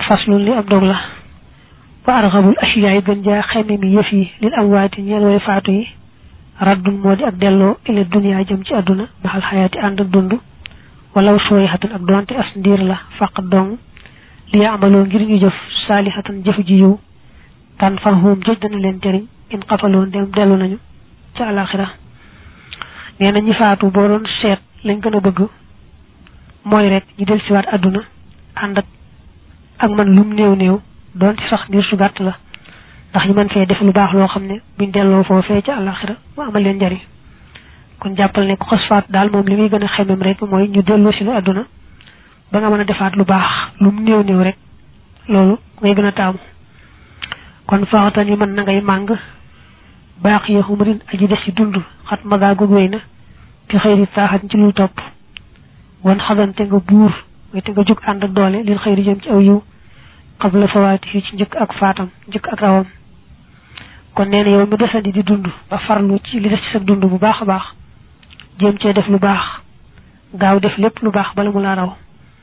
faslu li ab dog la wa arghabul ashiya'i gën jaa xeme mi yëf yi lil amwaati ñeel way faatu yi raddun moo di ak delloo ila dunya jëm ci àdduna baxal xayaati ànd ak dund walaw sooyxatan ak doonte as ndiir la faq dong li yaamaloo ngir ñu jëf saalihatan jëf ji yiw tan fahum jëj dana leen jëriñ in xafaloon dem dellu nañu ca alaxira nee na ñi faatu boo doon seet lañ gën a bëgg mooy rek ñu del siwaat àdduna ànd ak man lum néew néew doon ci sax ngir su gàtt la ndax ñu mën fee def lu baax loo xam ne buñ delloo foofee ca alaxira mu amal leen njëriñ kon jàppal ne ku xas faatu daal moom li muy gën a xemem rek mooy ñu delloo si la àdduna ba nga mën a defaat lu baax lum néew néew rek loolu ngay gën a taamu kon faxatan yi mën na ngay màng baax ya xumrin aji des ci dund xat magaagug wéy na fi xëyri taaxat ci lu topp wan xadante nga buur mooy te nga jug ànd ak doole lil xëyri jëm ci aw yiw xabla fawaati fi ci njëkk ak faatam njëkk ak rawam kon nee na yow mi desandi di dund ba farlu ci li des ci sa dund bu baax a baax jéem cee def lu baax gaaw def lépp lu baax bala mu laa raw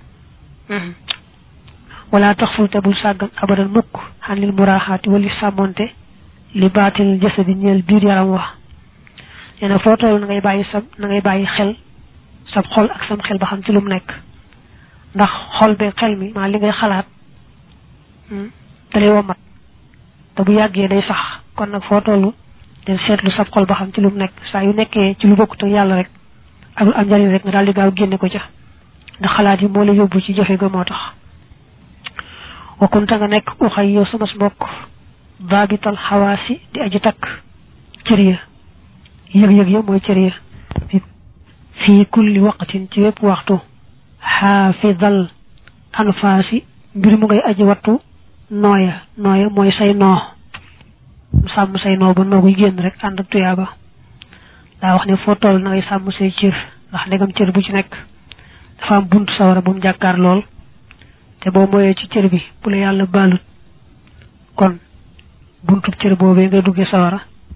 wala tax ful te bul sàggan abadan mukk xan lil muraaxaati wali sàmmonte li baatil jasadi ñeel biir yaram wax nee na foo toll na ngay bàyyi xel sab xol ak sam xel ba xam ci lu mu nekk ndax xol be xel mi maa li ngay xalaat dalay womat te bu yàggee day sax kon nag foo toll del seetlu sab xol ba xam ci lu mu nekk saa yu nekkee ci lu bokkut ak yàlla rek ak lu am njariñ rek nga daal di gaaw génne ko ca ndax xalaat yi moo la yóbbu ci jafe ga moo tax wakkunta nga nekk uxay yow sama mbokk baabital xawaasi di aji takk cër ya yëg-yëg ya mooy cër ya fii kulli waqtin ci wépp waxtu xaafidal anfaasi mbir mu ngay aji wattu nooya mooy say noo sàmm say noo ba nooguy génn rek ànd ak tuyaaba daa wax ne foo toll na ngay sàmm say cër ndax ndegam cër bu ci nekk dafa am buntu sawara bu mu jàkkaar lool te boo moyee ci cër bi bu la yàlla baalut kon buntu cër boobee ngay duggee sawara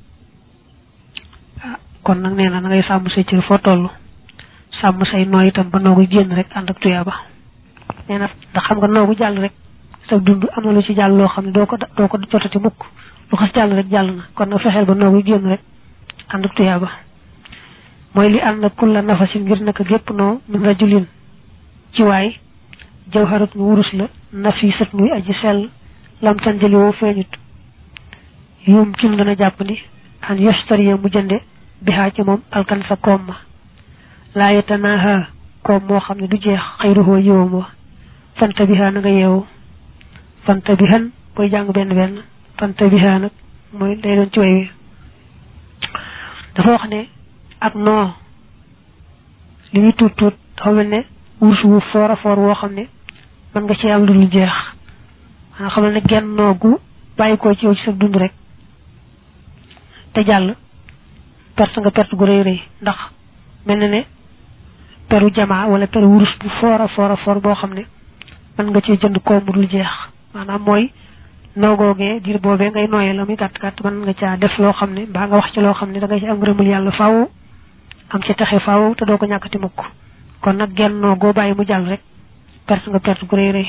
kon nag nee na ngay sàmm say cër foo toll sàmm say noo itam ba nooguy génn rek ànd ak tuyaaba nee na ndax xam nga noogu jàll rek sa dund am na lu ci jàll loo xam ne doo ko jotati mukk lu xas jàll rek jàll na kon nag fexeel ba nooguy génn rek ànd ak tuyaaba mooy li ànd ak kulla nafasin ngir naka gépp noo min rajulin ci waay jawharat mu wurus la nafisat muy aji sell lam tanjali woo feeñut yum cin dana jàpp ni an yastariya mu jënde bihaa ci moom alkan sa koom ma laa yetanaha koom moo xam ne du jeex xayruhoo yiwam wa fanta bihaa na nga yeewu fanta bihan booy jàng benn fanta bihaa nag mooy day doon ci way wi dafa wax ne ak noo li muy tuut dafa mel ne wurus wu foor a foor woo xam ne mën nga ci am lu dul jeex maanaam xamal ne genn noo gu bàyyi ko ci yow ci sa dund rek te jàll perte nga perte gu rëy ndax mel na ne peru jamaa wala peru wurus bu foor a foor boo xam ne mën nga ci jënd koom mu dul jeex maanaam mooy noogoogee diir boobee ngay nooyee la muy gàtt gàtt mën nga caa def loo xam ne mbaa nga wax ci loo xam ne da nga ci am ngërëmul yàlla faaw am ci taxe faaw te doo ko ñàkkati mukk kon nag genn noo goo bàyyi mu jàll rek perte nga perte gu rëy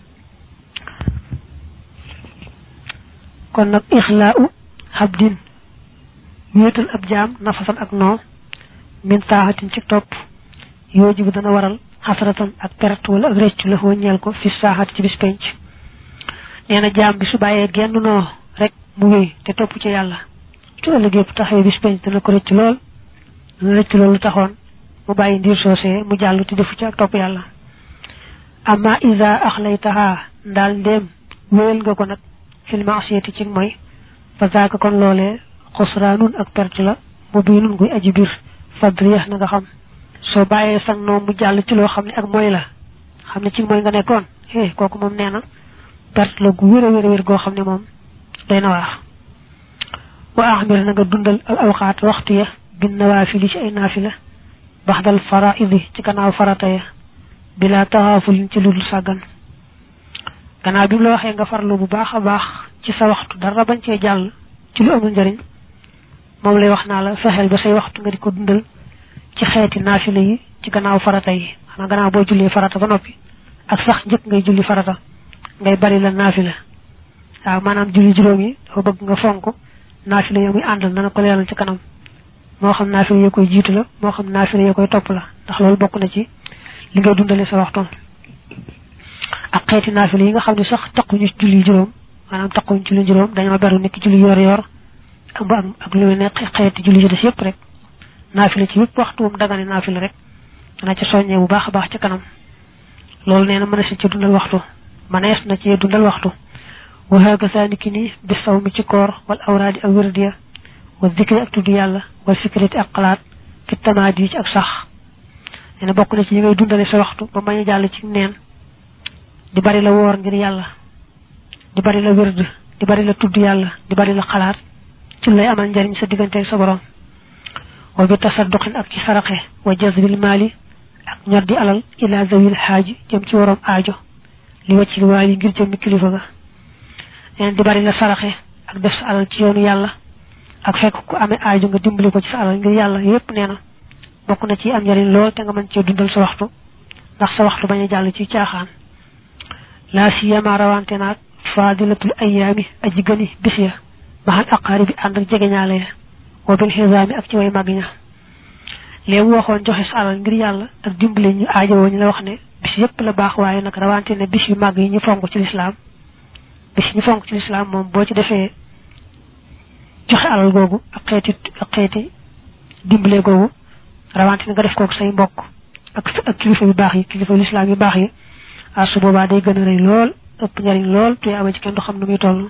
kon nag ixlaau habdin wéetal ab jaam nafasan ak noo min taaxatin ci topp yooji bu dana waral xasaratan ak perte wala ak réccu la foo ñeel ko fi saaxat ci bis penc nee na jaam bi su bàyyee genn noo rek mu wéy te topp ci yàlla ci ëllëgee bu taxawee bis penc dana ko rëcc lool dana rëcc loolu taxoon mu bàyyi ndiir soosee mu jàll te defu ci ak topp yàlla amma isa axlaytaha ndaal ndéem wéyal nga ko nag fil maasiyati ci mooy fa zaaka kon loolee xusraanun ak perte la mu biinun guy aji biir fadriyax na nga xam soo bàyyee sang noom mu jàll ci loo xam ne ak mooy la xam ne ci mooy nga nekkoon kooku moom nee na perte la gu wér goo xam ne moom day na waax wa axmir na nga dundal al awqaat waxtu ya bin nawaafili ci ay naafila baxdal faraidi ci gannaaw farata ya bila taxaafulin ci ludul sàggan gannaaw bi mu la waxee nga farlu bu baax a baax ci sa waxtu dara bañ cee jàll ci lu amul njëriñ moom lay wax naa la fexeel ba say waxtu nga di ko dundal ci xeeti naafila yi ci gannaaw farata yi xanaa gannaaw boo jullee farata ba noppi ak sax njëkk ngay julli farata ngay bari la naafila waaw maanaam julli juróom yi dafa bëgg nga fonk naafila ya muy àndal dana ko leeral ci kanam moo xam naafila ya koy jiitu la moo xam naafila ya koy topp la ndax loolu bokk na ci li ngay dundale sa waxtu ak xeeti naafila yi nga xam ne sax taquñu julli juróom maanaam taquñu julli juróom dañoo beru nekk julli yor ak lu ne xeeti julli ci des yëpp rek naafila ci yëpp waxtu moom dagane naafila rek dana ci soññee bu baax a baax ci kanam loolu nee na mënees na ci dundal waxtu mënees na ci dundal waxtu wa hakaza niki ni bi saw mi ci koor wal awraadi ak wérdiya wa zikri ak tudd yàlla wal fikrati ak xalaat fi tamaadi ci ak sax nee na bokk na ci yi ngay dundale sa waxtu ba mañ a jàll ci neen di bari la woor ngir yàlla di bari la wérd di bari la tudd yàlla di bari la xalaat ci lay amal njariñ sa diggante ak sa borom wa bi tasadduqin ak ci saraxe wa jazbil maali ak ñor di alal ila zawil xaaji jëm ci waroom aajo li wàccil waali ngir jëm kilifa ga neen di bari la saraxe ak def sa alal ci yoonu yàlla ak fekk ku amee aajo nga dimbali ko ci sa alal ngir yàlla yépp nee na bokk na ci am njariñ lool te nga mën cee dundal sa waxtu ndax sa waxtu bañ a jàll ci caaxaan laa siyama rawante naag faadilatul ayaami aji gëni bis ya maxal aqaari bi ànd ak jegeñaale ya wa bil xisaami ak ci way màgg ña léegi waxoon joxe sa alal ngir yàlla ak dimbali ñu aajowoo ñu la wax ne bis yépp la baax waaye nag rawante ne bis yu màgg yi ñu fonk ci lislaam bis ñu fonk ci lislaam moom boo ci defee joxe alal googu ak xeeti dimbale googu rawante ne nga def kook say mbokk ak kilifa yu baax yi kilifa lislaam yu baax yi su boobaa day gën a rëy lool ëpp njariñ lool te ama ci kenn du xam nu muy toll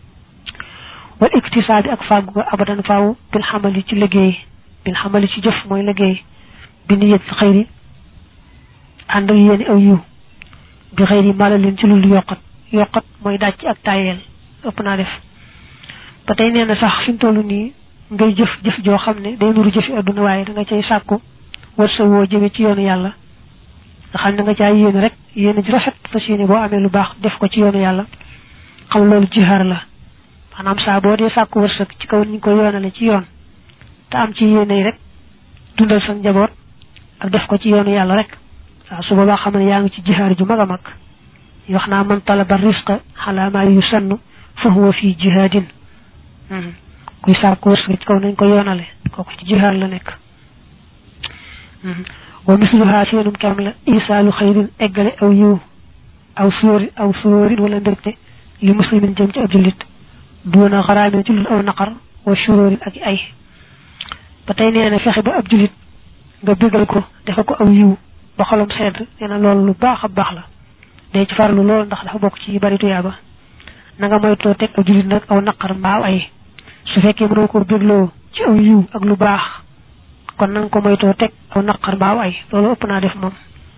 wal iktisaabi ak fàggu nga abadan faaw bil xamali ci liggéey bil xamali ci jëf mooy liggéey bi niyet si xëyri ànd ak yéeni aw yiw bi xëyri mala leen ci lul yokkat mooy dàcc ak tayeel ëpp naa def ba tey nee na sax fi mu toll nii ngay jëf joo xam ne day nuru jëfi adduna waaye da nga cay sàkku war sa woo jëme ci yoonu yàlla nga xam ne nga caa yéene rek yéene ji rafet fas yéene boo amee lu baax def ko ci yoonu yàlla xam loolu jihaar la maanaam saa boo dee sàkku wërsëg ci kaw ñu ko yoonale ci yoon te am ci yéene rek dundal sa njaboot ak def ko ci yoonu yàlla rek waaw su boobaa xam ne yaa ngi ci jihaar ju mag a mag wax naa man talaba risqa ala ma yusannu fa huwa fi jihaadin kuy sàkku wërsëg ci kaw nañ ko yoonale kooku ci jihaar la nekk wa misluha seenum kem la isaalu xayrin eggale aw yiw aw sóorin wala mbégte li muslimin jëm ci ab jullit duuna xaraamin ci lul aw naqar wa shuróorin ak ay ba tey nee na fexe ba ab jullit nga bégal ko defe ko aw yiw ba xolam sedd nee na loolu lu baax a baax la day ci farlu loolu ndax dafa bokk ci bari tuyaaba na nga moytoo teg ab jullit nag aw naqar mbaaw ay su fekkee mënoo ko bégloo ci aw yiw ak lu baax kon na nga ko moytoo teg aw naqar mbaaw ay loolu ëpp naa def moom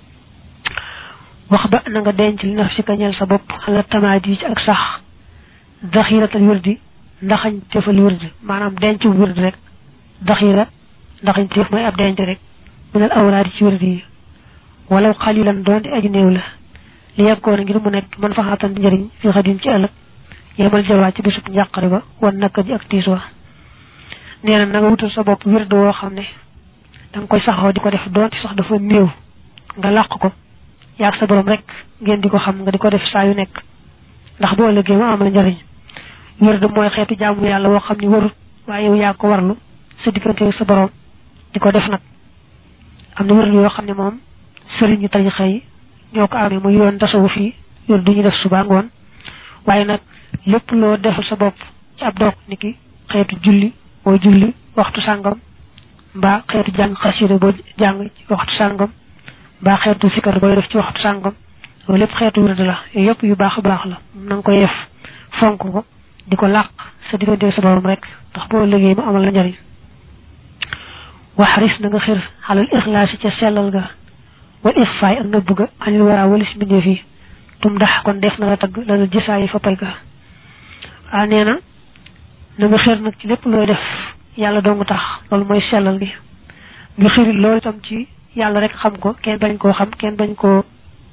wax ba na nga denc li naf si ka ñeel sa bopp xala tamaadi ci ak sax daxiratal wërdi ndaxañ tefal wërd maanaam denc wërd rek daxira ndaxañ tef mooy ab denc rek minal awraadi ci wërd yi wala xalilan doon di aji néew la li yeggoon ngir mu nekk man fa xaatan njëriñ fi xadin ci ëllëg yemal jalwaa ci bisub njàqare ba wan naka ji ak tiis wa nee na nga wutal sa bopp wërd woo xam ne da nga koy saxoo di ko def doonte sax dafa néew nga làq ko yaag sa borom rek ngeen di ko xam nga di ko def saa yu nekk ndax boo ëllëgee mu amal njëriñ wërd mooy xeetu jaamu yàlla woo xam ne warut waaye yow yaa ko warlu sa diggante sa borom di ko def nag am na wërd yoo xam ne moom sëriñu tarixa yi ñoo ko amee muy yoon tasawuf yi wërd du ñu def suba ngoon waaye nag lépp loo defal sa bopp ci ab doog niki xeetu julli boo julli waxtu sàngam mbaa xeetu jàng xasida boo jàng ci waxtu sàngam mbaa xeetu sikar booy def ci waxtu sàngam loolu lépp xeetu wërd la yooyu yëpp yu baax a baax la na nga koy def fonk ko di ko làq sa diggante sa borom rek ndax boo liggéey mu amal la njariñ waxaris na nga xir xalal ixlaasi ca sellal ga wal ixfaay ak nëbb ga anil wara walis mbindeef yi tum ndax kon def na la tagg la gisaayi fa pay ga nee na nga xir nag ci lépp looy def yàlla dong tax loolu mooy sellal gi nga xirit loolu itam ci yàlla rek xam ko kenn bañ koo xam kenn bañ koo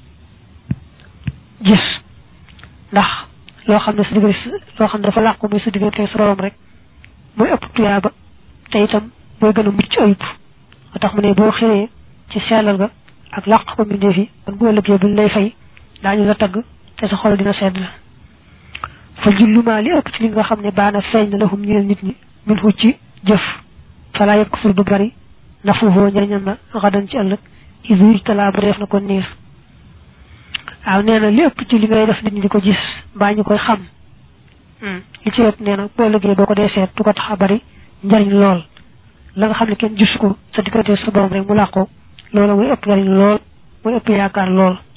gis ndax loo xam ne sa diggante loo xam ne dafa làqu muy sa diggante sa borom rek mooy ëpp tuyaaba te itam mooy gën a mucc ayib moo tax mu ne boo xiree ci sellal ga ak làq ko mbindeef yi kon bu ëllëgee buñ lay fay daañu la tagg te sa xol dina sedd fa julluma li ëpp ci li nga xam ne baana feeñ na lahum ñeel nit ñi min hu ci jëf fala yakfur du bari nafuhu njëriñam na xadan ci ëllëg izuj tala bu def na ko niir waaw nee na li ëpp ci li ngay def nit ñi di ko gis mbaa ñu koy xam li ci ëpp nee na boo liggéey boo ko dee seet du ko tax a bari njëriñ lool la nga xam ne kenn gis ko sa diggante sa borom rek mu làqoo loola muy ëpp njëriñ lool muy ëpp yaakaar lool